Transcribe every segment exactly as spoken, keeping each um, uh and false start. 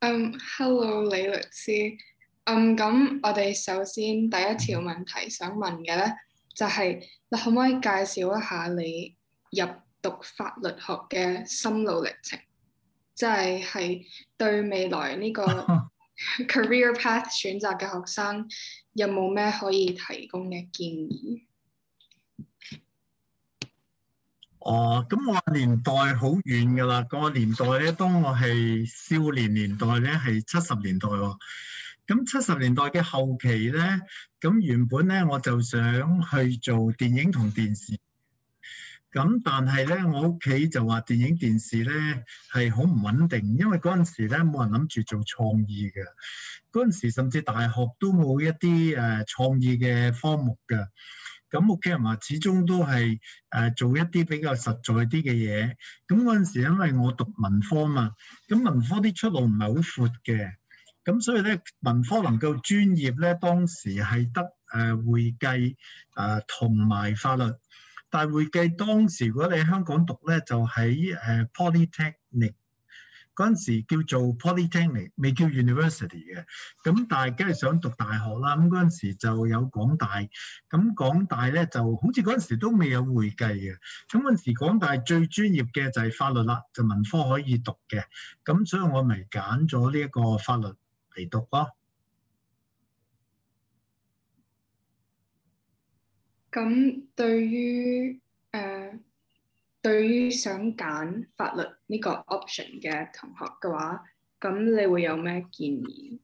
嗯，Hello 李律師。嗯，咁我哋首先第一條問題想問嘅咧，就係你可唔可以介紹一下你入讀法律學嘅心路歷程？即係係對未來呢個 career path 選擇嘅學生有冇咩可以提供嘅建議？ 哦，咁我年代好遠㗎啦，個年代咧，當我係少年年代咧，係七十年代喎。咁七十年代嘅後期咧，咁原本咧我就想去做電影同電視，咁但係咧我屋企就話電影電視咧係好唔穩定，因為嗰陣時咧冇人諗住做創意嘅，嗰陣時甚至大學都冇一啲誒創意嘅科目嘅。咁屋企人話始終都係誒做一啲比較實在啲嘅嘢。咁嗰陣時因為我讀文科嘛，咁文科啲出路唔係好闊嘅，咁所以咧文科能夠專業咧當時係得誒會計誒同埋法律。但係會計當時如果你喺香港讀咧，就喺誒 Polytechnic。嗰陣時叫做 Polytechnic， 未叫 University 嘅。咁但係梗係想讀大學啦。咁嗰陣時就有港大，咁港大咧就好似嗰陣時都未有會計嘅。咁嗰陣時港大最專業嘅就係法律啦，就文科可以讀嘅。咁所以我咪揀咗呢一個法律嚟讀咯。 咁對於誒、呃、對於想揀法律呢個 option 嘅同學嘅話，咁你會有咩建議？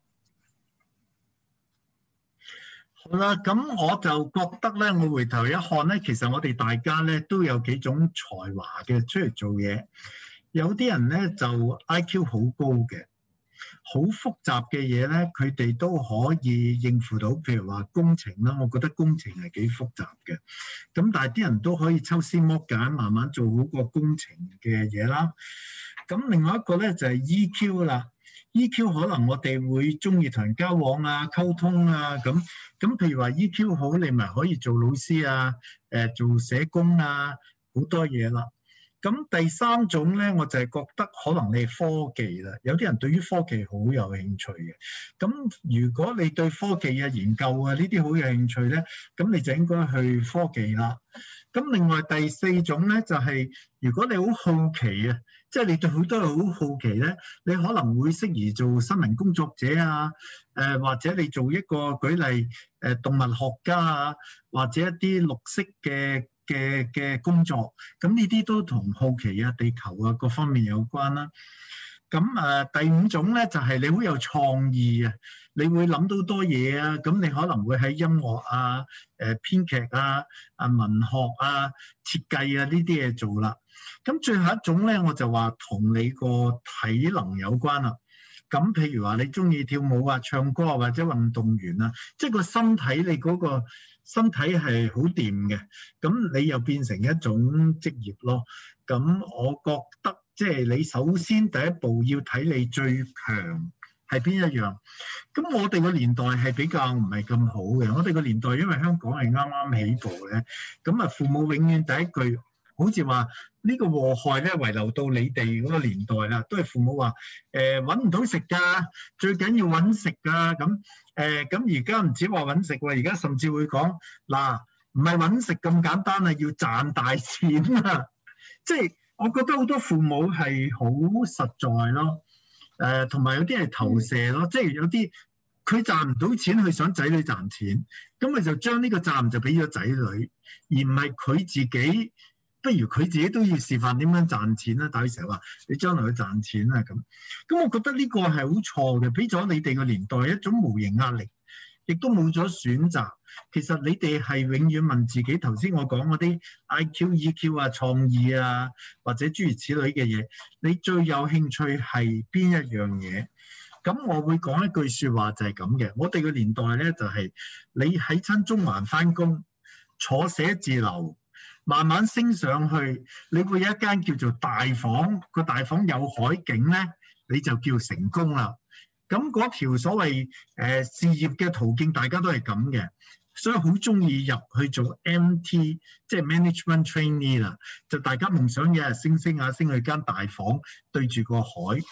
好啦，咁我就覺得咧，我回頭一看咧，其實我哋大家咧都有幾種才華嘅出嚟做嘢。有啲人咧就 I Q 好高嘅。好複雜嘅嘢咧，佢哋都可以應付到。譬如話工程啦，我覺得工程係幾複雜嘅。咁但係啲人都可以抽絲剝繭，慢慢做好個工程嘅嘢啦。咁另外一個咧就係 E Q 啦。E Q 可能我哋會中意同人交往啊、溝通啊咁。咁譬如話 E Q 好，你咪可以做老師啊、誒做社工啊，好多嘢啦。咁第三種咧，我就係覺得可能你係科技啦，有啲人對於科技好有興趣嘅。咁如果你對科技啊、研究啊呢啲好有興趣咧，咁你就應該去科技啦。咁另外第四種咧，就係如果你好好奇啊，即係你對好多嘢好好奇咧，你可能會適宜做新聞工作者啊，誒或者你做一個舉例誒動物學家啊，或者一啲綠色嘅嘅嘅工作，咁呢啲都同好奇啊、地球啊各方面有關啦。咁誒、呃、第五種咧就係、是、你好有創意啊，你會諗到多嘢啊，咁你可能會喺音樂啊、誒、呃、編劇啊、啊文學啊、設計啊呢啲嘢做啦。咁最後一種咧，我就話同你個體能有關啦。咁譬如話你中意跳舞啊、唱歌啊或者運動員啊，即係個身體你嗰個身體係好掂嘅，咁你又變成一種職業咯。咁我覺得即係你首先第一步要睇你最強係邊一樣。咁我哋個年代係比較唔係咁好嘅，我哋個年代因為香港係啱啱起步嘅，咁啊父母永遠第一句好似話呢個禍害咧遺留到你哋嗰個年代啦，都係父母話誒揾唔到食㗎，最緊要揾食㗎。咁誒咁而家唔止話揾食喎，而家甚至會講嗱，唔係揾食咁簡單啊，要賺大錢啊！即係我覺得好多父母係好實在咯，誒同埋有啲係投射咯，即係有啲佢賺唔到錢，佢想仔女賺錢，咁佢就將呢個責任就俾咗仔女，而唔係佢自己。不如佢自己都要示範點樣賺錢啦，但係佢成日話你將來去賺錢啊咁，咁我覺得呢個係好錯嘅，俾咗你哋個年代一種無形壓力，亦都冇咗選擇。其實你哋係永遠問自己頭先我講嗰啲 I Q、E Q 啊、創意啊，或者諸如此類嘅嘢，你最有興趣係邊一樣嘢？咁我會講一句説話就係咁嘅，我哋個年代咧就係、是、你喺親中環返工，坐寫字樓。慢慢升上去，你會有一間叫做大房，個大房有海景咧，你就叫成功啦。咁嗰條所謂誒、呃、事業嘅途徑，大家都係咁嘅，所以好中意入去做 M T， 即係 management trainee 啦。就大家夢想有日升升下升去間大房對住個海。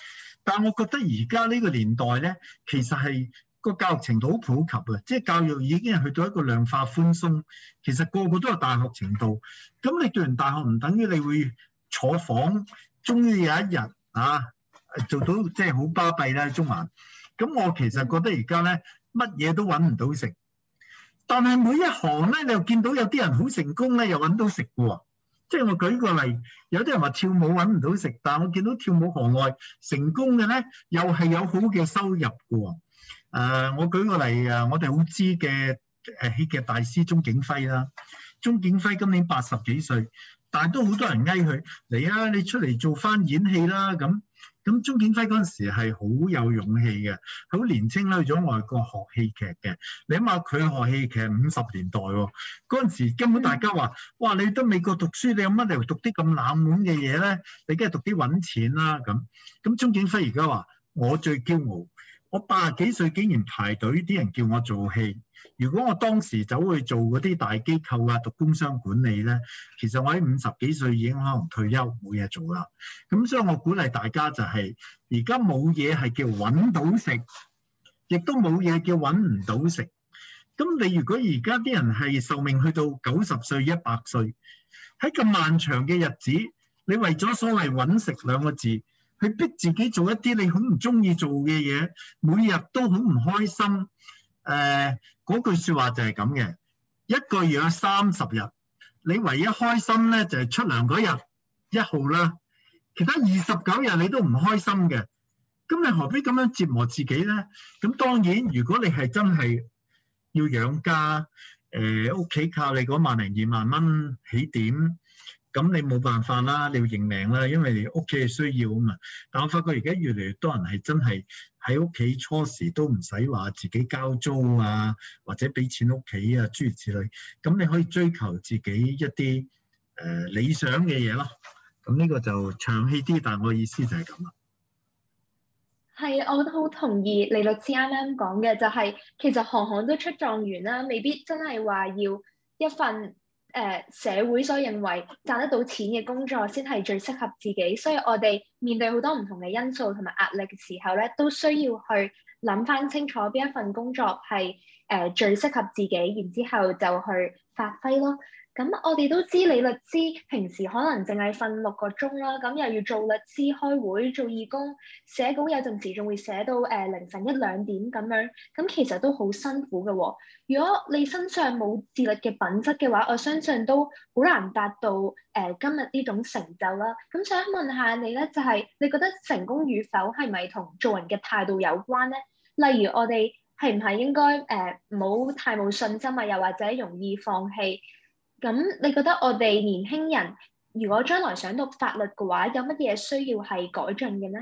但係我覺得而家呢個年代咧，其實係個教育程度好普及啊，即係教育已經係去到一個量化寬鬆，其實個個都有大學程度。咁你讀完大學唔等於你會坐房，終於有一日啊做到即係好巴閉啦，中環。咁我其實覺得而家咧乜嘢都揾唔到食，但係每一行咧你又見到有啲人好成功咧，又揾到食嘅喎。即係我舉個例，有啲人話跳舞揾唔到食，但係我見到跳舞行內成功嘅咧，又係有好嘅收入嘅喎。誒、呃，我舉個例啊，我哋好知嘅誒戲劇大師鐘景輝啦，鐘景輝今年八十幾歲，但係都好多人嗌佢嚟啊，你出嚟做翻演戲啦咁。咁鐘景輝嗰陣時係好有勇氣嘅，好年青啦，去咗外國學戲劇嘅。你諗下佢學戲劇五十年代喎，嗰陣時根本大家話：哇！你到美國讀書，你有乜理由讀啲咁冷門嘅嘢咧？你梗係讀啲揾錢啦咁。咁鐘景輝而家話：我最驕傲，我八十幾歲竟然排隊，啲人叫我做戲。如果我當時走去做嗰啲大機構啊，讀工商管理咧，其實我喺五十幾歲已經可能退休冇嘢做啦。咁所以我鼓勵大家就係、是，而家冇嘢係叫揾到食，亦都冇嘢叫揾唔到食。咁你如果而家啲人係壽命去到九十歲、一百歲，喺咁漫長嘅日子，你為咗所謂揾食兩個字，去逼自己做一啲你好唔中意做嘅嘢，每日都好唔開心。誒、呃，嗰句説話就係咁嘅，一個月有三十日，你唯一開心咧就係、是、出糧嗰日一號啦，其他二十九日你都唔開心嘅。咁你何必咁樣折磨自己咧？咁當然，如果你係真係要養家，誒屋企靠你嗰萬零二萬蚊起點。咁你冇辦法啦，你要認命啦，因為你屋企係需要啊嘛。但我發覺而家越嚟越多人係真係喺屋企初時都唔使話自己交租啊，或者俾錢屋企啊，諸如此類。咁你可以追求自己一啲誒、呃、理想嘅嘢咯。咁呢個就長氣啲，但係我意思就係咁啦。 係，我都好同意李律師啱啱講嘅，就係、是、其實行行都出狀元啦，未必真係話要一份。誒、呃、社會所認為賺得到錢嘅工作先係最適合自己，所以我哋面對好多唔同嘅因素同埋壓力嘅時候咧，都需要去諗翻清楚邊一份工作係誒、呃、最適合自己，然之後就去發揮咯。咁我哋都知李律師平時可能淨係瞓六個鐘啦，咁又要做律師、開會、做義工、寫稿，有陣時仲會寫到誒、呃、凌晨一兩點咁樣，咁其實都好辛苦嘅喎。如果你身上冇自律嘅品質嘅話，我相信都好難達到誒、呃、今日呢種成就啦。咁想問下你咧，就係、是、你覺得成功與否係咪同做人嘅態度有關咧？例如我哋係唔係應該誒唔好太冇信心啊，又或者容易放棄？咁你覺得我哋年輕人如果將來想讀法律嘅話，有乜嘢需要係改進嘅呢？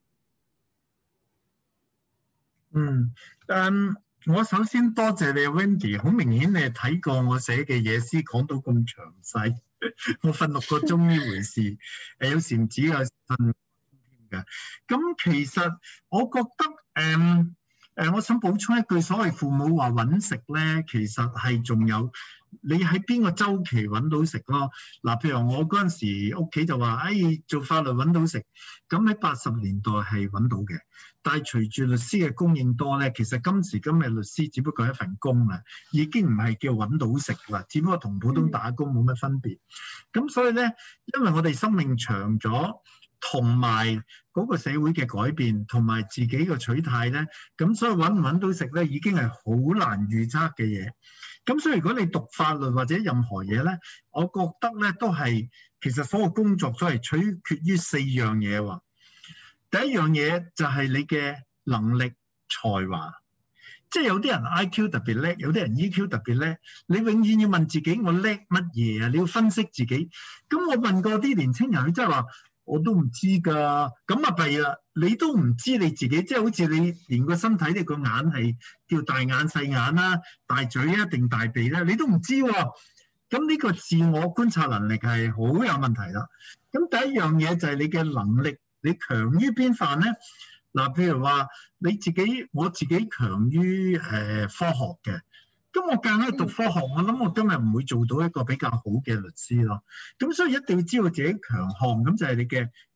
嗯，誒，我首先多謝你 Wendy， 好明顯你係睇過我寫嘅嘢先講到咁詳細。我瞓六個鐘呢回事，誒有時唔止有瞓㗎。咁其實我覺得誒誒、呃，我想補充一句，所謂父母話揾食咧，其實係仲有。你喺邊個周期揾到食咯？嗱，譬如我嗰陣時屋企就話，哎，做法律揾到食，咁喺八十年代係揾到嘅。但係隨住律師嘅供應多咧，其實今時今日律師只不過係一份工啦，已經唔係叫揾到食啦，只不過同普通打工冇乜分別。咁所以咧，因為我哋生命長咗，同埋嗰個社會嘅改變，同埋自己嘅取態咧，咁所以揾唔揾到食咧，已經係好難預測嘅嘢。咁所以如果你讀法律或者任何嘢咧，我覺得咧都係其實所有工作都係取決於四樣嘢喎。第一樣嘢就係你嘅能力才華，即係有啲人 I Q 特別叻，有啲人 E Q 特別叻，你永遠要問自己我叻乜嘢啊？你要分析自己。咁我問過啲年青人，佢真係話我都唔知㗎，咁啊弊啦！你都唔知你自己，即係好似你連個身體你個眼係叫大眼細眼啦，大嘴啊定大鼻咧，你都唔知喎。咁呢個自我觀察能力係好有問題啦。咁第一樣嘢就係你嘅能力，你強於邊範咧？嗱，譬如話你自己，我自己強於誒科學嘅。咁我夾硬去讀科學，我諗我今日唔會做到一個比較好嘅律師咯。咁所以一定要知道自己強項，咁就係你嘅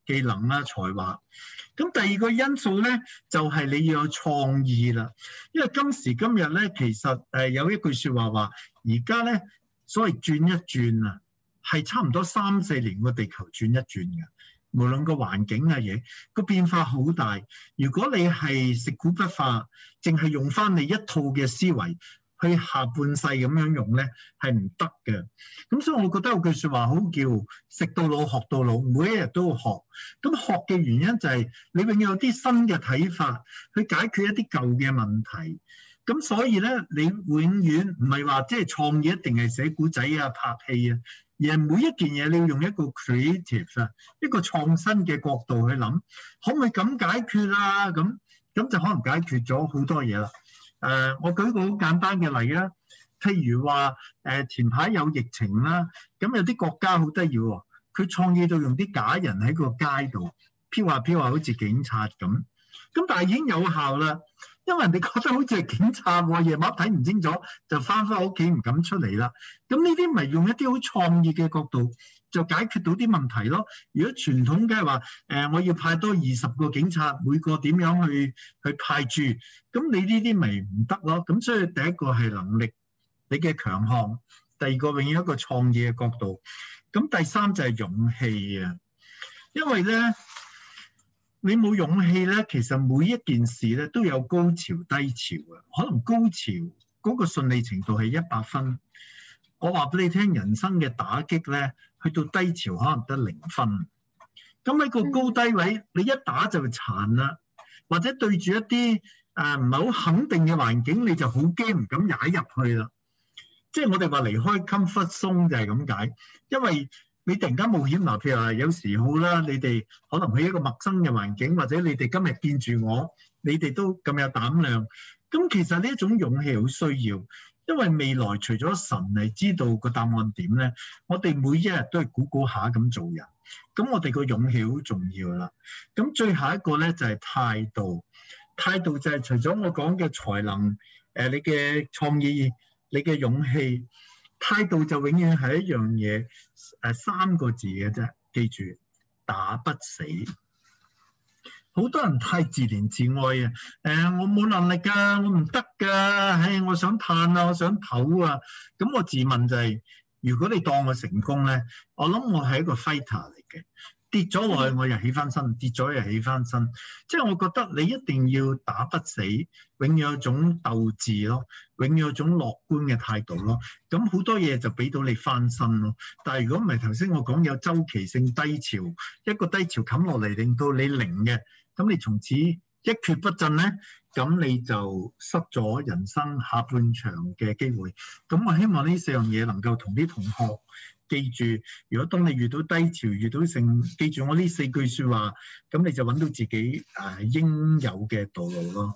技能啦、才華。咁第二個因素咧，就係、是、你要有創意啦。因為今時今日咧，其實誒有一句説話話，而家咧所謂轉一轉啊，係差唔多三四年個地球轉一轉嘅。無論個環境嘅嘢，個變化好大。如果你係食古不化，淨係用翻你一套嘅思維去下半世咁樣用咧，係唔得嘅。咁所以我覺得有句説話好叫食到老學到老，每一日都要學。咁學嘅原因就係你永遠有啲新嘅睇法去解決一啲舊嘅問題。咁所以咧，你永遠唔係話即係創意一定係寫古仔啊、拍戲啊。而係每一件嘢，你要用一個 creative 啊，一個創新嘅角度去諗，可唔可以咁解決啊？咁咁就可能解決咗好多嘢啦。誒、呃，我舉個好簡單嘅例啦，譬如話誒、呃、前排有疫情啦，咁有啲國家好得意喎，佢創意到用啲假人喺個街度飄下飄下，好似警察咁。咁但係已經有效啦。因為人哋覺得好似係警察喎，夜晚睇唔清楚就翻返屋企唔敢出嚟啦。咁呢啲咪用一啲好創意嘅角度就解決到啲問題咯。如果傳統嘅係話誒，我要派多二十個警察，每個點樣去去派駐，咁你呢啲咪唔得咯。咁所以第一個係能力，你嘅強項；第二個永遠一個創意嘅角度。咁第三就係勇氣啊，因為咧。你冇勇氣咧，其實每一件事咧都有高潮低潮啊。可能高潮嗰個順利程度係一百分，我話俾你聽，人生嘅打擊咧，去到低潮可能得零分。咁喺個高低位，你一打就殘啦，或者對住一啲誒唔係好肯定嘅環境，你就好驚唔敢踩入去啦。即係我哋話離開 comfort zone 就係咁解，因為你突然間冒險嗱，譬如話有時好啦，你哋可能去一個陌生嘅環境，或者你哋今日見住我，你哋都咁有膽量。咁其實呢一種勇氣好需要，因為未來除咗神係知道個答案點咧，我哋每一日都係估估下咁做人。咁我哋個勇氣好重要啦。咁最後一個咧就係態度，態度就係除咗我講嘅才能，誒你嘅創意，你嘅勇氣。態度就永遠係一樣嘢，誒三個字嘅啫，記住打不死。好多人太自憐自愛啊！誒、呃，我冇能力㗎，我唔得㗎，唉，我想嘆啊，我想唞啊。咁我自問就係、是，如果你當我成功咧，我諗我係一個 fighter 嚟嘅。跌咗落去我又起翻身，跌咗又起翻身，即係我覺得你一定要打不死，永遠有種鬥志咯，永遠有種樂觀嘅態度咯。咁好多嘢就俾到你翻身咯。但係如果唔係頭先我講有周期性低潮，一個低潮冚落嚟令到你零嘅，咁你從此一蹶不振咧，咁你就失咗人生下半場嘅機會。咁我希望呢四樣嘢能夠同啲同學記住，如果當你遇到低潮、遇到成，記住我呢四句説話，咁你就揾到自己誒、呃、應有嘅道路咯。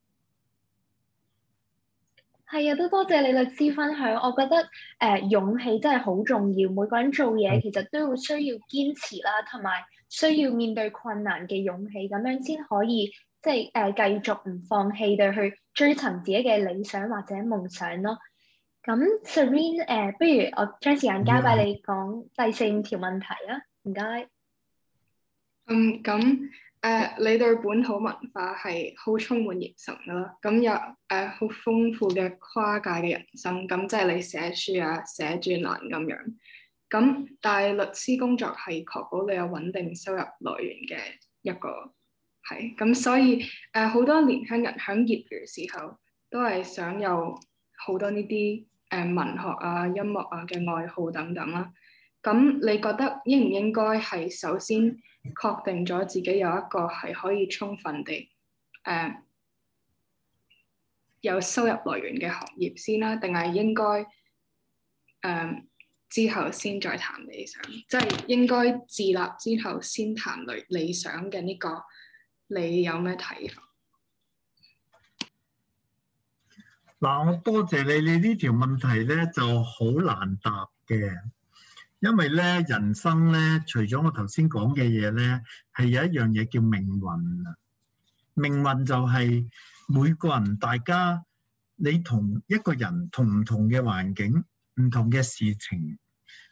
係啊，都多謝李律師分享。我覺得誒、呃、勇氣真係好重要。每個人做嘢其實都要需要堅持啦，同埋需要面對困難嘅勇氣，咁樣先可以即係誒、呃、繼續唔放棄地去追尋自己嘅理想或者夢想咯。咁 Serene 誒、呃，不如我將時間交俾你講第四五條問題啊，唔該。 嗯，咁誒、呃，你對本土文化係好充滿熱忱㗎啦，咁有誒好、呃、豐富嘅跨界嘅人生，咁即係你寫書啊、寫專欄咁樣。咁但係律師工作係確保你有穩定收入來源嘅一個係，咁所以誒好、呃、多年輕人喺業餘時候都係想有好多呢啲誒文學啊、音樂啊嘅愛好等等啦。咁你覺得應唔應該係首先確定咗自己有一個係可以充分地誒、呃、有收入來源嘅行業先啦，定係應該誒、呃、之後先再談理想？即係應該自立之後先談理理想嘅呢個，你有咩睇法？ 嗱，我多謝你，你呢條問題咧就好難答嘅，因為咧人生咧，除咗我頭先講嘅嘢咧，係有一樣嘢叫命運啊。命運就係每個人，大家你同一個人同唔同嘅環境、唔同嘅事情，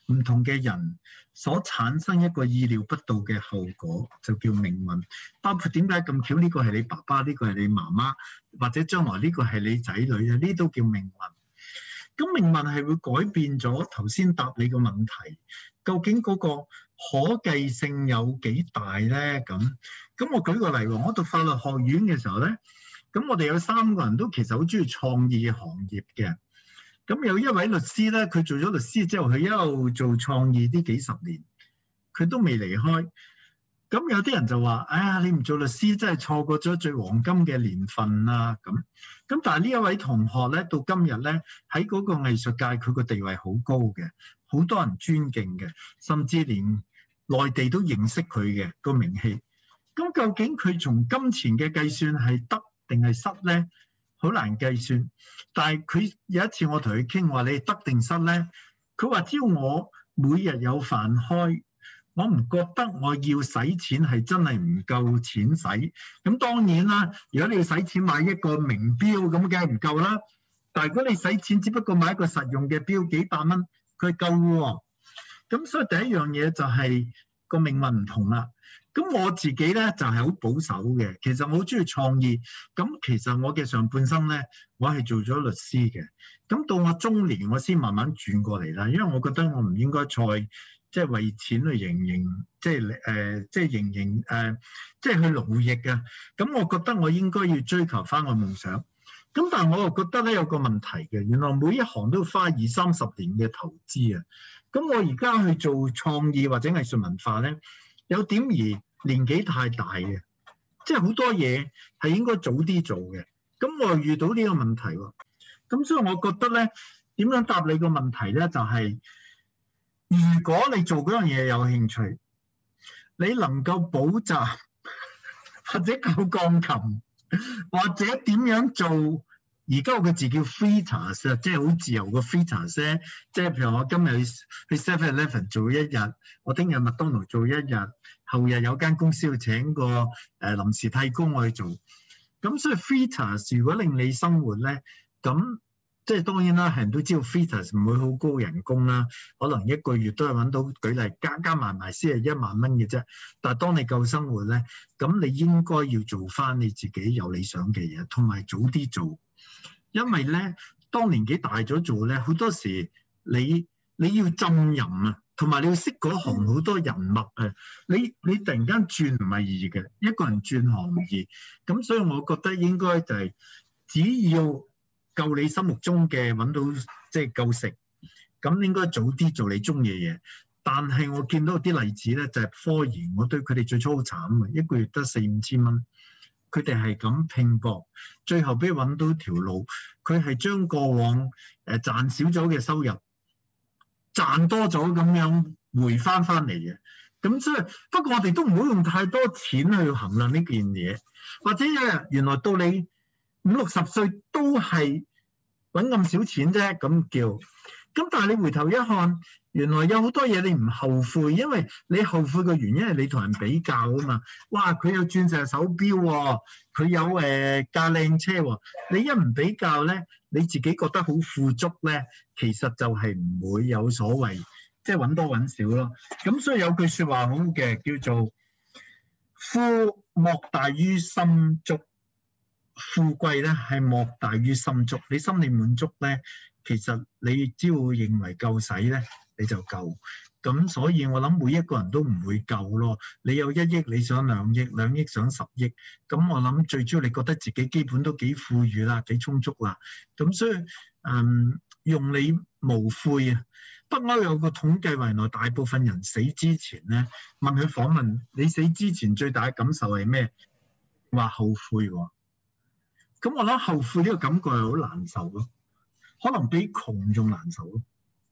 唔同嘅人所產生一個意料不到嘅後果，就叫命運。包括點解咁巧呢個係你爸爸，呢個係你媽媽，或者將來呢個係你仔女啊，呢都叫命運。咁命運係會改變咗頭先答你個問題，究竟嗰個可計性有幾大咧？咁咁我舉個例喎，我讀法律學院嘅時候咧，咁我哋有三個人都其實好中意創意行業嘅。咁有一位律師咧，佢做咗律師之後，佢一路做創意呢幾十年，佢都未離開。咁有啲人就話：哎呀，你唔做律師真係錯過咗最黃金嘅年份啊！咁咁，但係呢一位同學咧，到今日咧喺嗰個藝術界，佢個地位好高嘅，好多人尊敬嘅，甚至連內地都認識佢嘅個名氣。咁究竟佢從金錢嘅計算係得定係失咧？好難計算。但係佢有一次我同佢傾話：你得定失咧？佢話：只要我每日有飯開，我唔覺得我要使錢係真係唔夠錢使。咁當然啦，如果你要使錢買一個名錶，咁梗係唔夠啦。但係如果你使錢只不過買一個實用嘅錶，幾百蚊，佢夠喎。咁所以第一樣嘢就係個命運唔同啦。咁我自己咧就係好保守嘅，其實我好中意創意。咁其實我嘅上半生咧，我係做咗律師嘅。咁到我中年，我先慢慢轉過嚟啦，因為我覺得我唔應該再即係為錢去營營，即係誒，即係營營誒，即係去勞役啊。咁我覺得我應該要追求翻個夢想。咁但係我又覺得咧有個問題嘅，原來每一行都要花二三十年嘅投資啊。咁我而家去做創意或者藝術文化咧，有點而年紀太大嘅，即係好多嘢係應該早啲做嘅。咁我又遇到呢個問題喎。咁所以我覺得咧，點樣答你個問題咧，就係如果你做嗰樣嘢有興趣，你能夠補習或者教鋼琴，或者點樣做？而家我個字叫 freelance 啊，即係好自由個 freelance 咧。即係譬如我今日去去 seven eleven 做一日，我聽日麥當勞做一日，後日有間公司要請個誒、呃、臨時替工我去做。咁所以 freelance 如果令你生活咧，咁即係當然啦，係人都知道 freelance 唔會好高人工啦，可能一個月都係揾到，舉例加加埋埋先係一萬蚊嘅啫。但係當你夠生活咧，咁你應該要做翻你自己有理想嘅嘢，同埋早啲做。因為咧，當年紀大咗做咧，好多時你你要浸淫啊，同埋你要識嗰行好多人脈啊。你你突然間轉唔係易嘅，一個人轉行唔易。咁所以我覺得應該就係只要夠你心目中嘅揾到即係夠食，咁應該早啲做你中意嘅嘢。但係我見到啲例子咧，就係科研，我對佢哋最初好慘啊，一個月得四五千蚊。佢哋係咁拼搏，最後俾佢揾到條路，佢係將過往誒賺少咗嘅收入賺多咗咁樣回翻翻嚟嘅。咁所以不過我哋都唔好用太多錢去衡量呢件嘢，或者原來到你五六十歲都係揾咁少錢啫，咁叫。咁但係你回頭一看，原來有好多嘢你唔後悔，因為你後悔嘅原因係你同人比較啊嘛。哇！佢有鑽石手錶喎，佢有誒架靚車喎。你一唔比較咧，你自己覺得好富足咧，其實就係唔會有所謂，即係揾多揾少咯。咁所以有句説話好嘅，叫做富莫大於心足，富貴咧係莫大於心足。你心理滿足咧，其實你只要認為夠使咧，你就夠。咁所以我諗每一個人都唔會夠咯。你有一億，你想兩億，兩億想十億。咁我諗最主要你覺得自己基本都幾富裕啦，幾充足啦。咁所以嗯，用你無悔啊！北歐有個統計話，原來大部分人死之前咧，問佢訪問你死之前最大嘅感受係咩？話後悔喎。咁我諗後悔呢個感覺係好難受咯。可能比窮仲難受咯。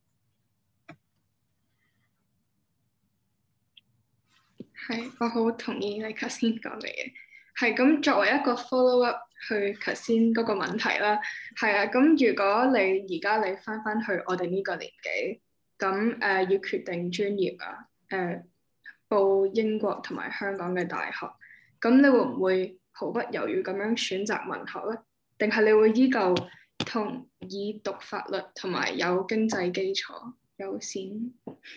係，我好同意你頭先講嘅嘢。係咁，作為一個 follow up 去頭先嗰個問題啦。係啊，咁如果你而家你翻翻去我哋呢個年紀，咁誒、呃、要決定專業啊，誒、呃、報英國同埋香港嘅大學，咁你會唔會毫不猶豫咁樣選擇文學咧？定係你會依舊同意讀法律同埋有經濟基礎？ 有線。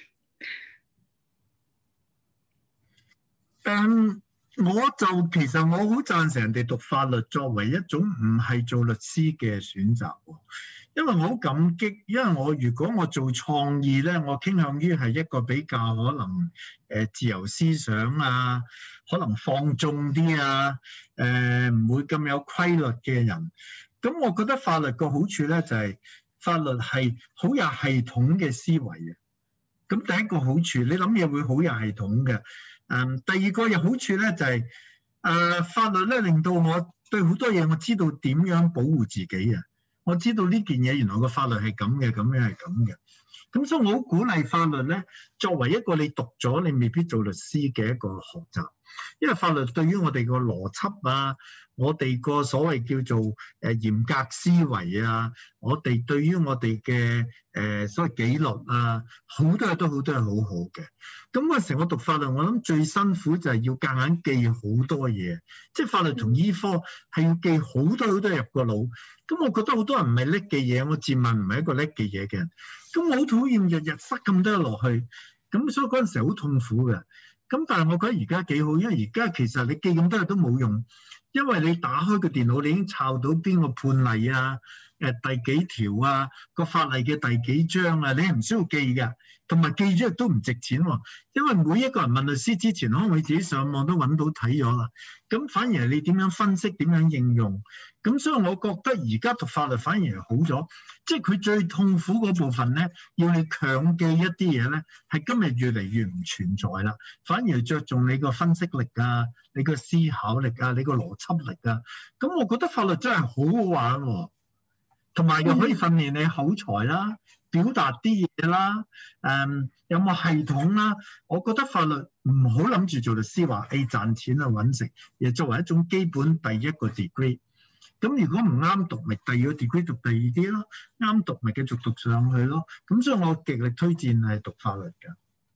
誒，我就其實我好贊成人哋讀法律作為一種唔係做律師嘅選擇喎，因為我好感激，因為我如果我做創意咧，我傾向於係一個比較可能誒自由思想啊，可能放縱啲啊，誒唔會咁有規律嘅人。咁我覺得法律個好處咧就係法律係好有系統嘅思維嘅。咁第一個好處，你諗嘢會好有系統嘅。誒，第二個有好處咧就係、是、誒、呃、法律咧令到我對好多嘢我知道點樣保護自己啊！我知道呢件嘢原來個法律係咁嘅，咁樣係咁嘅。咁所以我好鼓勵法律咧，作為一個你讀咗你未必做律師嘅一個學習，因為法律對於我哋個邏輯啊，我哋個所謂叫做誒嚴格思維啊，我哋對於我哋嘅誒所謂紀律啊，好多嘢都好多係好好嘅。咁嗰時我讀法律，我諗最辛苦就係要夾硬記好多嘢，即係法律同醫科係要記好多好多入個腦。咁我覺得好多人唔係叻嘅嘢，我自問唔係一個叻嘅嘢嘅人。咁我好討厭日日塞咁多落去，咁所以嗰陣時好痛苦嘅。咁但係我覺得而家幾好，因為而家其實你記咁多嘢都冇用，因為你打開個電腦，你已經抄到邊個判例啊，誒第幾條啊，個法例嘅第幾章啊，你係唔需要記㗎。同埋記咗亦都唔值錢喎，因為每一個人問律師之前，可能佢自己上網都揾到睇咗啦。咁反而係你點樣分析、點樣應用。咁所以我覺得而家讀法律反而係好咗，即係佢最痛苦嗰部分咧，要你強記一啲嘢咧，係今日越嚟越唔存在啦。反而着重你個分析力啊、你個思考力啊、你個邏輯力啊。咁我覺得法律真係好好玩喎，同埋又可以訓練你口才啦。表達啲嘢啦，誒、嗯、有冇系統啦？我覺得法律唔好諗住做律師話，誒、哎、賺錢啊揾食，亦作為一種基本第一個 degree。咁如果唔啱讀，咪第二個 degree 讀第二啲咯，啱讀咪繼續讀上去咯。咁所以我極力推薦係讀法律㗎。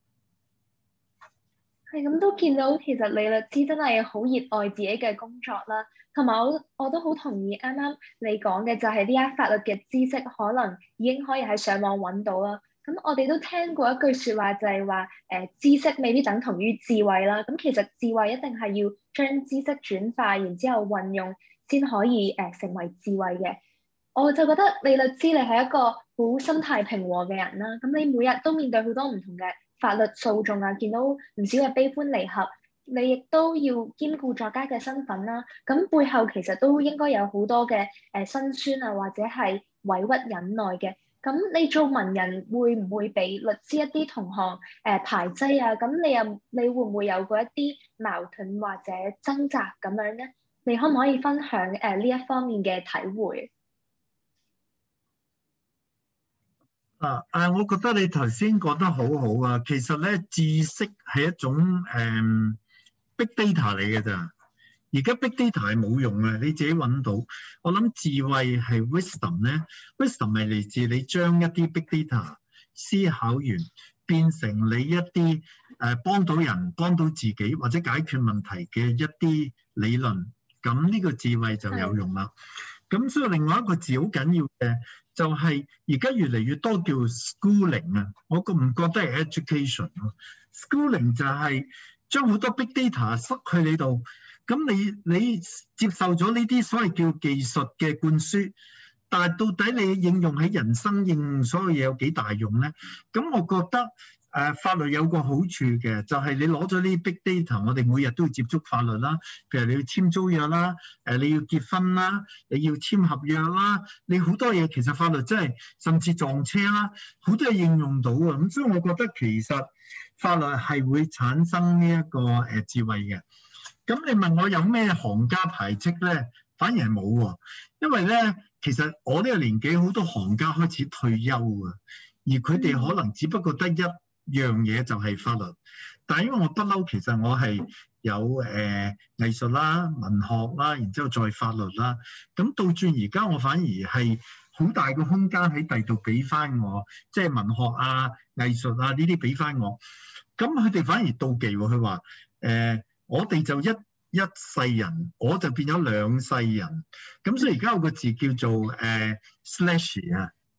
係咁都見到，其實李律師真係好熱愛自己嘅工作啦。同埋我我都好同意啱啱你講嘅，就係呢一法律嘅知識可能已經可以喺上網揾到啦。咁我哋都聽過一句説話，就係話誒知識未必等同於智慧啦。咁其實智慧一定係要將知識轉化，然之後運用先可以誒、呃、成為智慧嘅。我就覺得李律師你係一個好心態平和嘅人啦。咁你每日都面對好多唔同嘅法律訴訟啊，見到唔少嘅悲歡離合。你亦都要兼顧作家嘅身份啦，咁背後其實都應該有好多嘅誒辛酸啊，或者係委屈忍耐嘅。咁你做文人會唔會俾律師一啲同行誒、呃、排擠啊？咁你又你會唔會有過一啲矛盾或者掙扎咁樣咧？你可唔可以分享誒呢、呃、一方面嘅體會？ 啊啊！我覺得你頭先講得好好啊。其實咧，知識係一種誒。嗯Big data 嚟嘅咋，而家 big data 係冇用嘅，你自己揾到。我諗智慧係 wisdom 咧 ，wisdom 係嚟自你將一啲 big data 思考完，變成你一啲誒、呃、幫到人、幫到自己或者解決問題嘅一啲理論，咁呢個智慧就有用啦。咁所以另外一個字好緊要嘅就係而家越嚟越多叫 schooling 啊，我覺唔覺得係 education 咯 ？schooling 就係將好多 big data 塞去你度，咁你你接受咗呢啲所謂叫技術嘅灌輸，但係到底你應用喺人生應用所有嘢有幾大用咧？咁我覺得誒、呃、法律有個好處嘅，就係、是、你攞咗呢啲 big data，我哋每日都要接觸法律啦，譬如你要簽租約啦，誒你要結婚啦，你要簽合約啦，你好多嘢其實法律真係甚至撞車啦，好多嘢應用到啊，咁所以我覺得其實法律係會產生呢一個誒智慧嘅。咁你問我有咩行家排斥咧？反而係冇喎，因為咧其實我呢個年紀好多行家開始退休啊，而佢哋可能只不過得一樣嘢就係法律。但係因為我不嬲，其實我係有誒、呃、藝術啦、文學啦，然之後再法律啦。咁倒轉而家我反而係好大個空間喺第度俾翻我，即係文學啊、藝術啊呢啲俾翻我。咁佢哋反而妒忌喎，佢話誒我哋就一一世人，我就變咗兩世人。咁所以而家有個字叫做誒 slash 啊，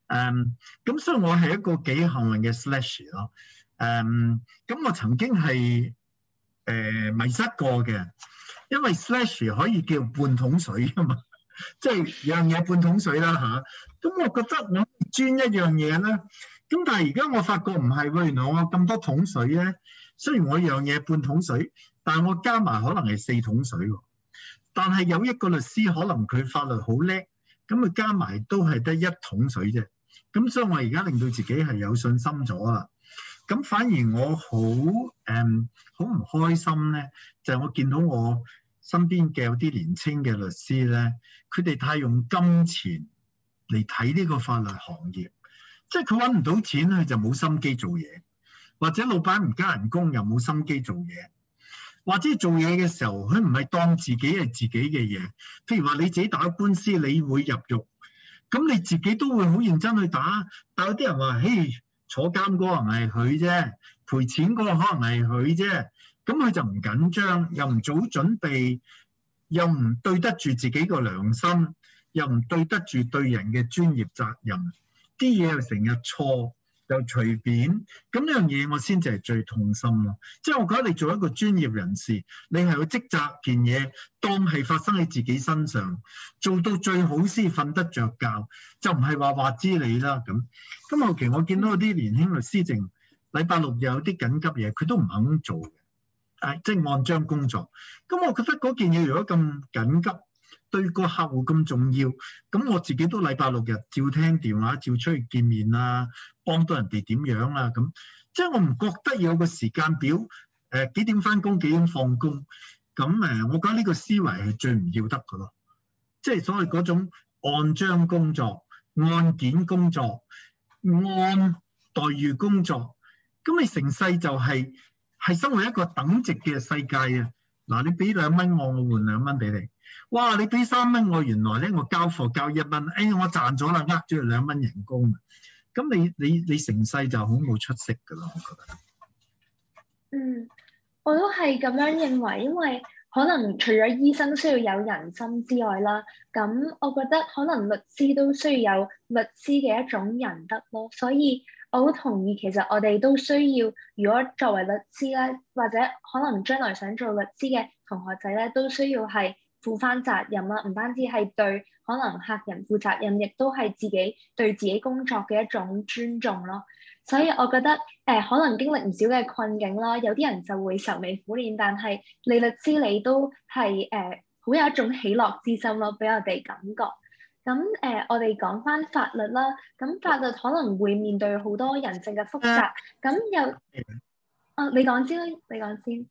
誒，咁所以我係一個幾幸運嘅 slash 咯。誒，咁我曾經係誒迷失過嘅，因為 slash 可以叫半桶水啊嘛，即係樣嘢半桶水啦嚇。咁我覺得我專一樣嘢咧，咁但係而家我發覺唔係喎，原來我咁多桶水咧，雖然我樣嘢半桶水，但係我加埋可能係四桶水喎。但係有一個律師可能佢法律好叻，咁佢加埋都係得一桶水啫。咁所以我而家令到自己係有信心咗啦。咁反而我好誒好唔開心咧，就係我見到我身邊嘅有啲年青嘅律師咧，佢哋太用金錢嚟睇呢個法律行業，即係佢揾唔到錢，佢就冇心機做嘢，或者老闆唔加人工又冇心機做嘢，或者做嘢嘅時候佢唔係當自己係自己嘅嘢。譬如話你自己打官司，你會入獄，咁你自己都會好認真去打，但有啲人話：嘿，坐監嗰個可能係佢啫，賠錢嗰個可能係佢啫，咁佢就唔緊張，又唔早準備，又唔對得住自己個良心，又唔對得住對人嘅專業責任，啲嘢又成日錯，又隨便，咁呢樣嘢我先至係最痛心咯。即係我覺得你做一個專業人士，你係有職責件嘢，當係發生喺自己身上，做到最好先瞓得着覺，就唔係話話知你啦咁。咁後期我見到啲年輕律師淨禮拜六又有啲緊急嘢，佢都唔肯做嘅，誒即係按章工作。咁我覺得嗰件嘢如果咁緊急，對個客戶咁重要，咁我自己都禮拜六日照聽電話，照出去見面啊，幫到人哋點樣啊咁。即係我唔覺得有個時間表，誒、呃、幾點返工幾點放工。咁誒，我覺得呢個思維係最唔要得嘅咯。即係所謂嗰種按章工作、按件工作、按待遇工作，咁你成世就係、係、係生活一個等值嘅世界啊！嗱，你俾兩蚊我，我換兩蚊俾你。哇！你俾三蚊我，原來咧我交貨交一蚊，哎我賺咗啦，呃咗佢兩蚊人工。咁你你你成世就好冇出息噶啦，我覺得。 嗯，我都係咁樣認為，因為可能除咗醫生需要有人心之外啦，咁我覺得可能律師都需要有律師嘅一種仁德咯。所以我好同意，其實我哋都需要，如果作為律師咧，或者可能將來想做律師嘅同學仔咧，都需要係負翻責任啦，唔單止係對可能客人負責任，亦都係自己對自己工作嘅一種尊重咯。所以我覺得誒、呃，可能經歷唔少嘅困境啦，有啲人就會愁眉苦臉，但係你律師你都係誒好有一種喜樂之心咯，俾我哋感覺。咁誒、呃，我哋講翻法律啦，咁法律可能會面對好多人性嘅複雜，咁又啊，你講先啦，你講先。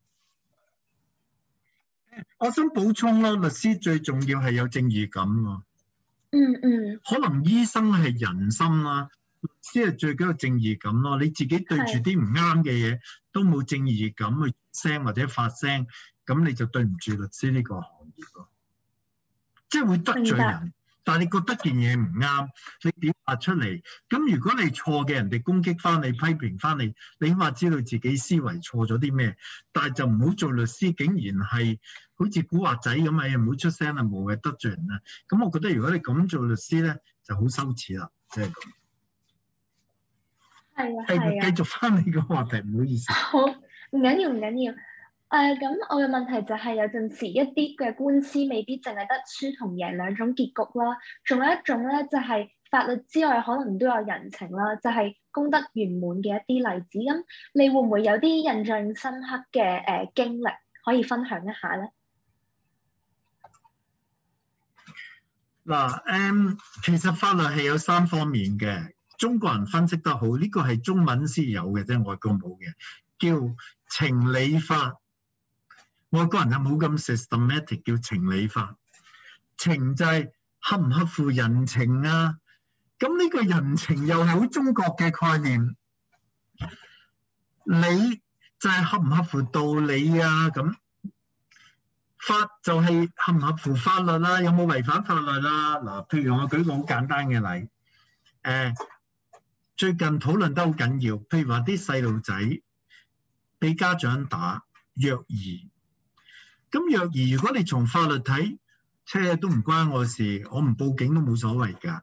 我想補充咯，律師最重要係有正義感喎。 嗯嗯。 可能醫生係人心啦，律師係最緊要正義感咯。你自己對住啲唔啱嘅嘢都冇正義感去聲或者發聲，咁你就對唔住律師呢個行業咯。即係會得罪人，但係你覺得件嘢唔啱，你表達出嚟。咁如果你錯嘅，人哋攻擊翻你、批評翻你，你起碼知道自己思維錯咗啲咩。但係就唔好做律師，竟然係好似古惑仔咁啊！唔好出聲啊，無謂得罪人啊。咁我覺得如果你咁做律師咧，就好羞恥啦，即係咁。 係啊，係啊。 繼續翻你個話題，唔好意思。 好，唔緊要，唔緊要。誒，咁我嘅問題就係有陣時一啲嘅官司未必淨係得輸同贏兩種結局啦，仲有一種咧就係法律之外可能都有人情啦，就係功德圓滿嘅一啲例子。咁你會唔會有啲印象深刻嘅誒經歷可以分享一下咧？ 嗱，誒，其實法律係有三方面嘅，中國人分析得好，呢個係中文先有嘅啫，外國冇嘅，叫情理法。外國人就冇咁 systematic 叫情理法，情就係合唔合乎人情啊？咁呢個人情又係好中國嘅概念，理就係合唔合乎道理啊？咁法就係合唔合乎法律啦、啊？有冇違反法律啦、啊？嗱，譬如我舉個好簡單嘅例，誒、呃，最近討論得好緊要，譬如話啲細路仔俾家長打虐兒。咁虐兒，如果你從法律睇，車都唔關我事，我唔報警都冇所謂㗎。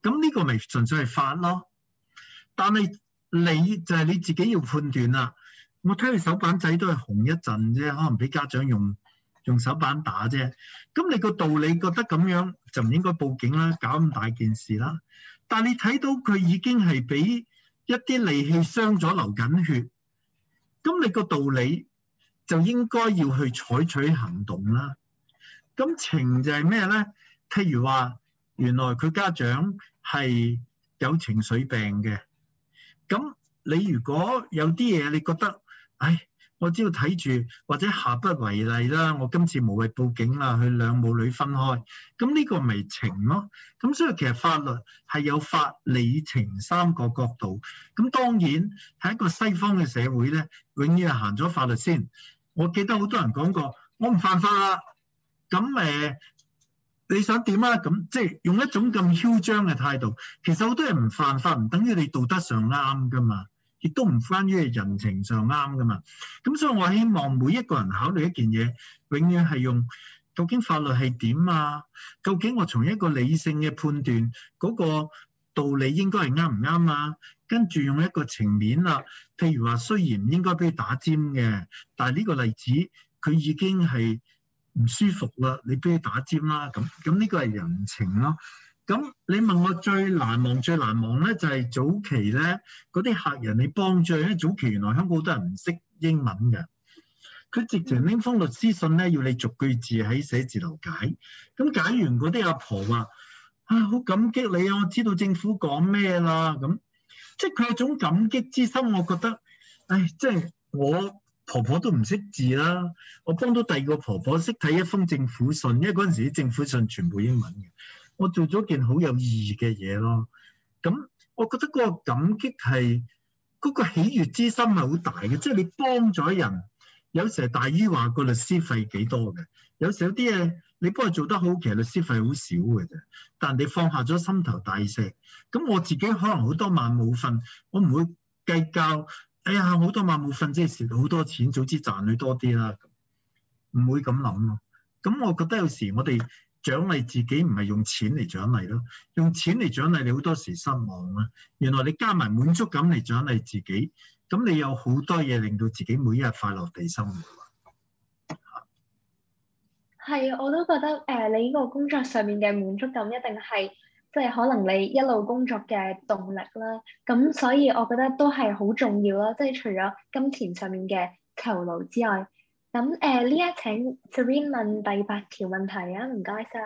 咁呢個咪純粹係法咯。但係你就係你自己要判斷啦。我睇佢手板仔都係紅一陣啫，可能俾家長用用手板打啫。咁你個道理覺得咁樣就唔應該報警啦，搞咁大件事啦。但係你睇到佢已經係俾一啲利器傷咗，流緊血，咁你個道理就應該要去採取行動啦。咁情就係咩咧？譬如話，原來佢家長係有情緒病嘅，咁你如果有啲嘢你覺得，唉，我只要睇住或者下不為例啦，我今次無謂報警啦，佢兩母女分開，咁呢個咪情咯。咁所以其實法律係有法理情三個角度。咁當然喺一個西方嘅社會咧，永遠係行咗法律先。我記得好多人講過，我唔犯法啦，咁誒你想點啊？咁即係用一種咁囂張嘅態度。其實好多人唔犯法，唔等於你道德上啱噶嘛。亦都唔關於人情上啱噶嘛，咁所以我希望每一個人考慮一件嘢，永遠係用究竟法律係點啊？究竟我從一個理性嘅判斷嗰個道理應該係啱唔啱啊？跟住用一個情面啦，譬如話雖然唔應該俾佢打尖嘅，但係呢個例子佢已經係唔舒服啦，你俾佢打尖啦，咁咁呢個係人情咯。咁你問我最難忘最難忘咧，就係早期咧嗰啲客人你幫助，因為早期原來香港好多人唔識英文嘅，佢直情拎封律師信咧，要你逐句字喺寫字樓解。咁解完嗰啲阿婆話：啊，好感激你啊，我知道政府講咩啦。咁即係佢有種感激之心，我覺得，唉，即係我婆婆都唔識字啦，我幫到第二個婆婆識睇一封政府信，因為嗰陣時啲政府信全部英文嘅。我做咗件好有意義嘅嘢咯，咁我覺得嗰個感激係嗰個喜悅之心係好大嘅，即係你幫咗人，有時係大於話個律師費幾多嘅，有時有啲嘢你幫佢做得好，其實律師費好少嘅啫，但你放下咗心頭大石，咁我自己可能好多晚冇瞓，我唔會計較，哎呀好多晚冇瞓即係蝕好多錢，早知賺佢多啲啦，唔會咁諗咯。咁我覺得有時我哋獎勵自己唔係用錢嚟獎勵咯，用錢嚟獎勵你好多時失望啦。原來你加埋滿足感嚟獎勵自己，咁你有好多嘢令到自己每一日快樂地生活。 係，我都覺得誒、呃，你呢個工作上面嘅滿足感一定係即係可能你一路工作嘅動力啦。咁所以我覺得都係好重要啦，即係除咗金錢上面嘅酬勞之外。咁誒，呢一請 Serene 問第八條問題啊，唔該晒。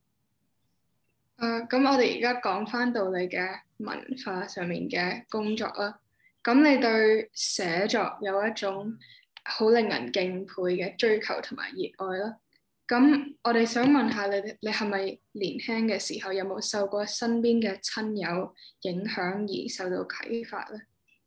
誒，咁我哋而家講翻到你嘅文化上面嘅工作啦。咁你對寫作有一種好令人敬佩嘅追求同埋熱愛啦。咁我哋想問下你，你係咪年輕嘅時候有冇受過身邊嘅親友影響而受到啟發咧？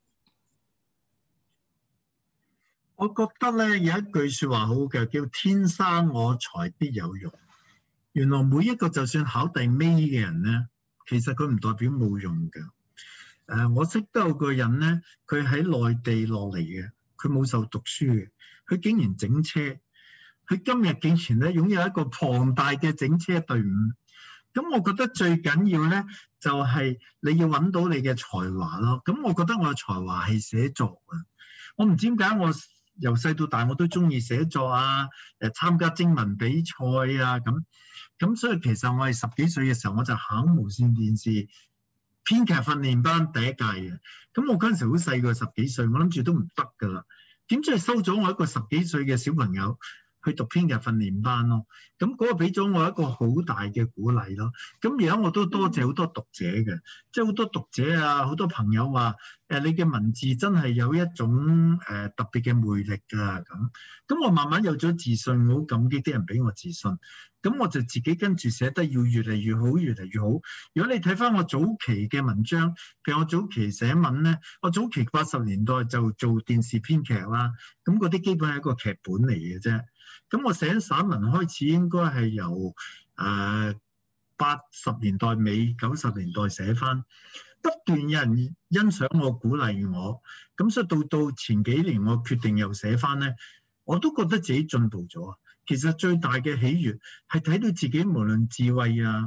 我覺得咧有一句説話好嘅，叫天生我材必有用。原來每一個就算考第尾嘅人咧，其實佢唔代表冇用嘅。誒、呃，我識得有個人咧，佢喺內地落嚟嘅，佢冇受讀書嘅，佢竟然整車。佢今日竟然咧擁有一個龐大嘅整車隊伍。咁我覺得最緊要咧就係、是、你要揾到你嘅才華咯。咁我覺得我嘅才華係寫作啊。我唔知點解我由細到大我都中意寫作啊，誒參加徵文比賽啊咁，咁所以其實我係十幾歲嘅時候我就考無線電視編劇訓練班第一屆嘅，咁我嗰陣時好細個，十幾歲，我諗住都唔得噶啦，點知係收咗我一個十幾歲嘅小朋友去讀編劇訓練班咯，咁嗰個俾咗我一個好大嘅鼓勵咯。咁而家我都多謝好多讀者嘅，即係好多讀者啊，好多朋友話誒你嘅文字真係有一種誒特別嘅魅力㗎咁。咁我慢慢有咗自信，我好感激啲人俾我自信。咁我就自己跟住寫得要越嚟越好，越嚟越好。如果你睇翻我早期嘅文章，譬如我早期寫文咧，我早期八十年代就做電視編劇啦，咁嗰啲基本係一個劇本嚟嘅啫。咁我寫散文開始應該係由誒八十年代尾九十年代寫翻，不斷有人欣賞我、鼓勵我，咁所以到到前幾年我決定又寫翻咧，我都覺得自己進步咗。其實最大嘅喜悅係睇到自己無論智慧啊、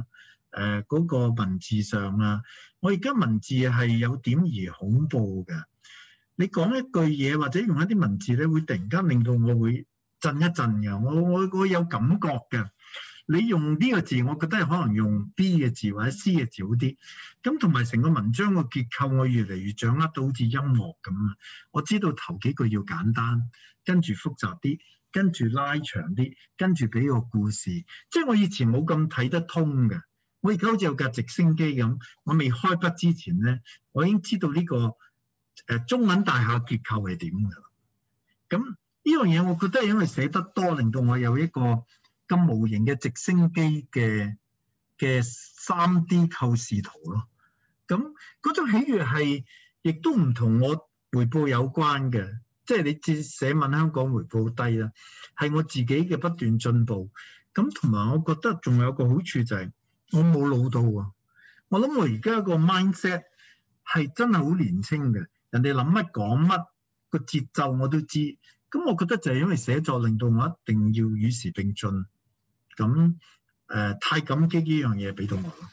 誒嗰個文字上啊，我而家文字係有點而恐怖嘅。你講一句嘢或者用一啲文字咧，會突然間令到我會震一震嘅。我我我有感覺嘅。你用呢個字，我覺得係可能用 B 嘅字或者 C 嘅字好啲。咁同埋成個文章個結構，我越嚟越掌握到好似音樂咁啊！我知道頭幾句要簡單，跟住複雜啲，跟住拉長啲，跟住俾個故事。即係我以前冇咁睇得通嘅。我而家好似有架直升機咁，我未開筆之前咧，我已經知道呢個誒中文大廈結構係點㗎啦。咁呢樣嘢，我覺得係因為寫得多，令到我有一個咁無形嘅直升機嘅嘅三 D 構視圖咯。咁嗰種喜悅係亦都唔同我回報有關嘅，即係你至寫文香港回報低啦，係我自己嘅不斷進步。咁同埋我覺得仲有個好處就係我冇老到啊！我諗我而家個 mindset 係真係好年輕嘅，人哋諗乜講乜個節奏我都知。咁我覺得就係因為寫作令到我一定要與時並進。咁誒、呃、太感激呢樣嘢俾到我咯。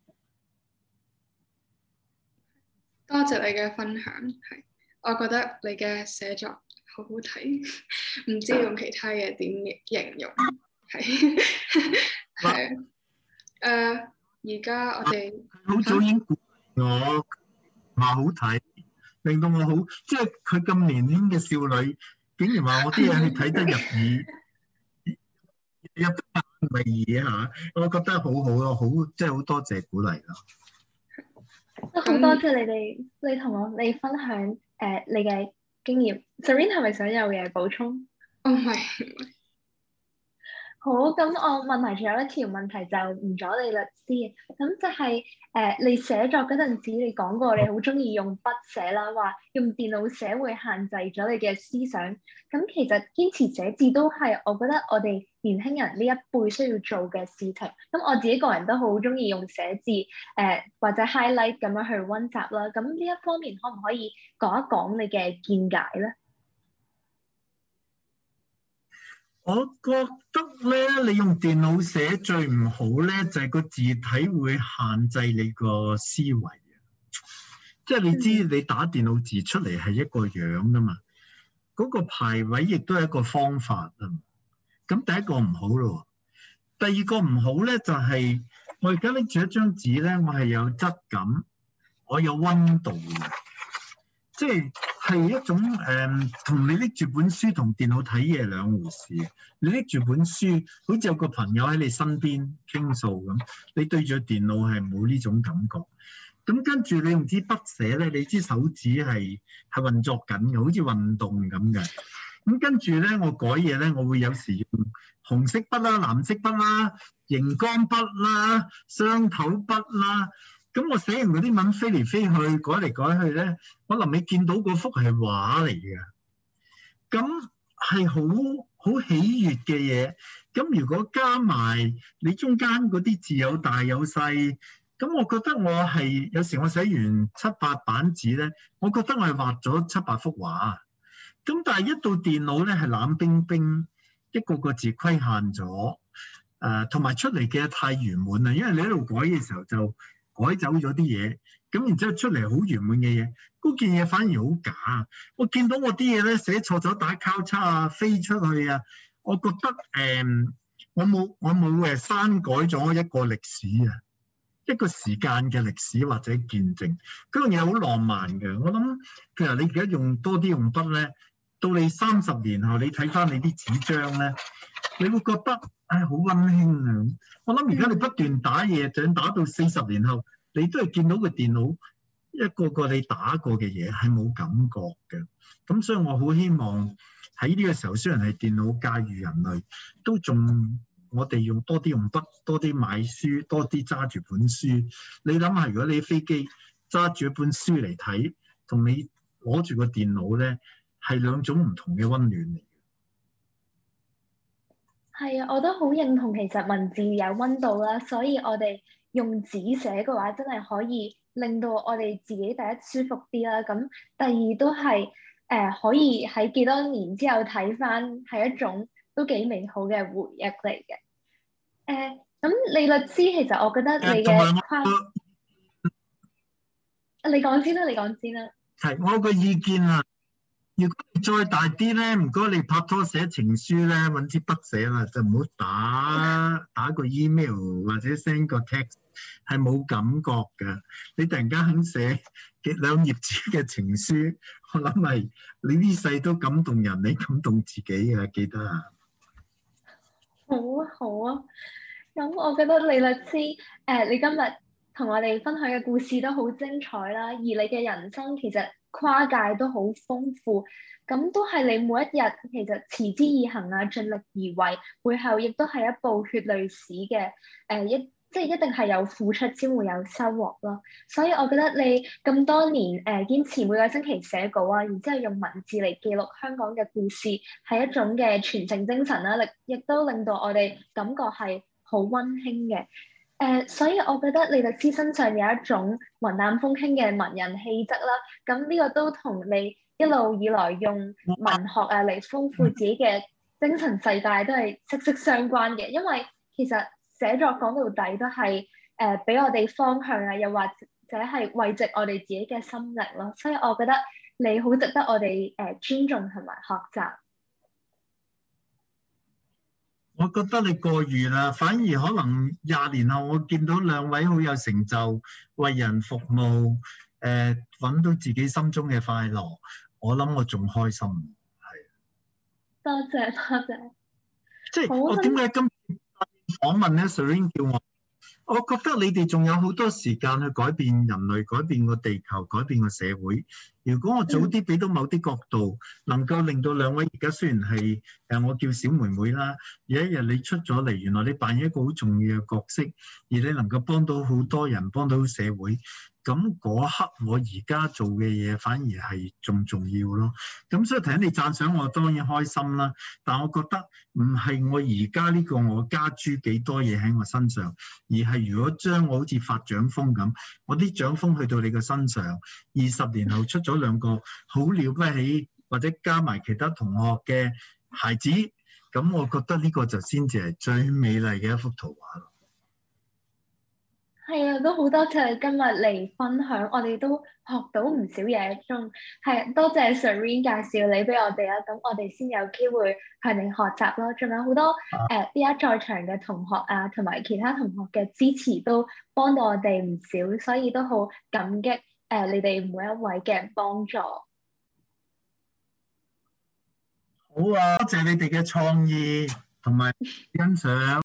多謝你嘅分享，係我覺得你嘅寫作好好睇，唔知用其他嘢點形容，係係誒而家我哋好早已經鼓勵我話好睇，令到我好，即係佢咁年輕嘅少女，竟然話我啲嘢係睇得入耳。入得咪耳嚇，我覺得好好咯，好即係好多謝鼓勵咯。 都好多謝你哋，你同我你分享誒、呃、你嘅經驗。Serene 係咪想有嘢補充？ 哦，唔係。 好，咁我問埋仲有一條問題就唔阻你律師，咁就係、是、誒、呃、你寫作嗰陣時，你講過你好中意用筆寫啦，話用電腦寫會限制咗你嘅思想。咁其實堅持寫字都係我覺得我哋年輕人呢一輩需要做嘅事情。咁我自己個人都好中意用寫字誒、呃、或者 highlight 咁樣去溫習啦。咁呢一方面可唔可以講一講你嘅見解咧？ 我覺得咧，你用電腦寫最唔好咧，就係、是、個字體會限制你個思維。即係你知，你打電腦字出嚟係一個樣噶嘛，嗰、那個排位亦都係一個方法啊。咁第一個唔好咯，第二個唔好咧就係、是、我而家拎住一張紙咧，我係有質感，我有溫度嘅，即係。係一種誒，同、呃、你拎住本書同電腦睇嘢兩回事。你拎住本書，好似有個朋友喺你身邊傾訴咁，你對住電腦係冇呢種感覺。咁跟住你用支筆寫咧，你支手指係係運作緊嘅，好似運動咁嘅。咁跟住咧，我改嘢咧，我會有時用紅色筆啦、藍色筆啦、熒光筆啦、雙頭筆啦。咁我寫完嗰啲文飛嚟飛去，改嚟改去咧，我臨尾見到嗰幅係畫嚟嘅，咁係好好喜悅嘅嘢。咁如果加埋你中間嗰啲字有大有細，咁我覺得我係有時我寫完七八版紙咧，我覺得我係畫咗七八幅畫。咁但係一到電腦咧，係冷冰冰，一個個字規限咗，誒同埋出嚟嘅太圓滿啦，因為你喺度改嘅時候就改走咗啲嘢，咁然之後出嚟好圓滿嘅嘢，嗰件嘢反而好假。我見到我啲嘢咧寫錯咗打交叉啊，飛出去啊，我覺得誒、嗯，我冇我冇誒刪改咗一個歷史啊，一個時間嘅歷史或者見證，嗰樣嘢好浪漫嘅。我諗譬如你而家用多啲用筆咧，到你三十年後你睇翻你啲紙張咧，你會覺得唉好溫馨啊！我諗而家你不斷打嘢，就打到四十年後，你都係見到個電腦一個個你打過嘅嘢係冇感覺嘅。咁所以我好希望喺呢個時候，雖然係電腦駕馭人類，都仲我哋用多啲用筆，多啲買書，多啲揸住本書。你諗下，如果你飛機揸住一本書嚟睇，同你攞住個電腦咧，係兩種唔同嘅溫暖嚟。 係啊，我都好認同，其實文字有溫度啦，所以我哋用紙寫嘅話，真係可以令到我哋自己第一舒服啲啦。咁第二都係誒、呃、可以喺幾多年之後睇返，係一種都幾美好嘅回憶嚟嘅。誒、呃， 咁李律師，其實我覺得你誒，同埋我嘅跨，你講先啦，你講先啦。 係我個意見啊。如果你再大啲咧，唔該你拍拖寫情書咧，揾支筆寫啦，就唔好打打個 email 或者 send 個 text，係冇感覺㗎。你突然間肯寫幾兩頁紙嘅情書，我諗係你呢世都感動人，你感動自己啊！記得啊！ 好啊，好啊。咁我覺得李律師，誒、你今日同我哋分享嘅故事都好精彩啦，而你嘅人生其實跨界都好豐富，咁都係你每一日其實持之以恆啊，盡力而為，背後亦都係一部血淚史嘅，誒、一即係一定係有付出先會有收穫咯。所以我覺得你咁多年誒、堅持每個星期寫稿啊，然之後用文字嚟記錄香港嘅故事，係一種嘅傳承精神啦，亦亦都令到我哋感覺係好溫馨嘅。誒、所以我覺得李律師身上有一種雲淡風輕嘅文人氣質啦。咁呢個都同你一路以來用文學啊嚟豐富自己嘅精神世界都係息息相關嘅。因為其實寫作講到底都係誒俾我哋方向啊，又或者係慰藉我哋自己嘅心靈咯。所以我覺得你好值得我哋誒、呃尊重同埋學習。 我覺得你過譽啦，反而可能廿年後我見到兩位好有成就，為人服務，誒、揾到自己心中嘅快樂，我諗我仲開心。係， 多謝多謝。 即係好我點解今次訪問咧 Serene 叫我，我覺得你哋仲有好多時間去改變人類、改變個地球、改變個社會。如果我早啲俾到某啲角度，能夠令到兩位而家雖然係誒我叫小妹妹啦，有一日你出咗嚟，原來你扮演一個好重要嘅角色，而你能夠幫到好多人、幫到社會，咁嗰刻我而家做嘅嘢反而係仲重要咯。咁所以睇你讚賞我當然開心啦，但我覺得唔係我而家呢個我加諸幾多嘢喺我身上，而係如果將我好似發獎風咁，我啲獎風去到你嘅身上，二十年後出咗兩個好了不起，或者加埋其他同學嘅孩子，咁我覺得呢個就先至係最美麗嘅一幅圖畫咯。 係啊，都好多謝你今日嚟分享，我哋都學到唔少嘢，仲係多謝 Serene 介紹你俾我哋啦，咁我哋先有機會向你學習咯。仲有好多誒依家在場嘅同學啊，同埋其他同學嘅支持都幫到我哋唔少，所以都好感激誒、呃你哋每一位嘅幫助。 好啊，多謝你哋嘅創意同埋欣賞。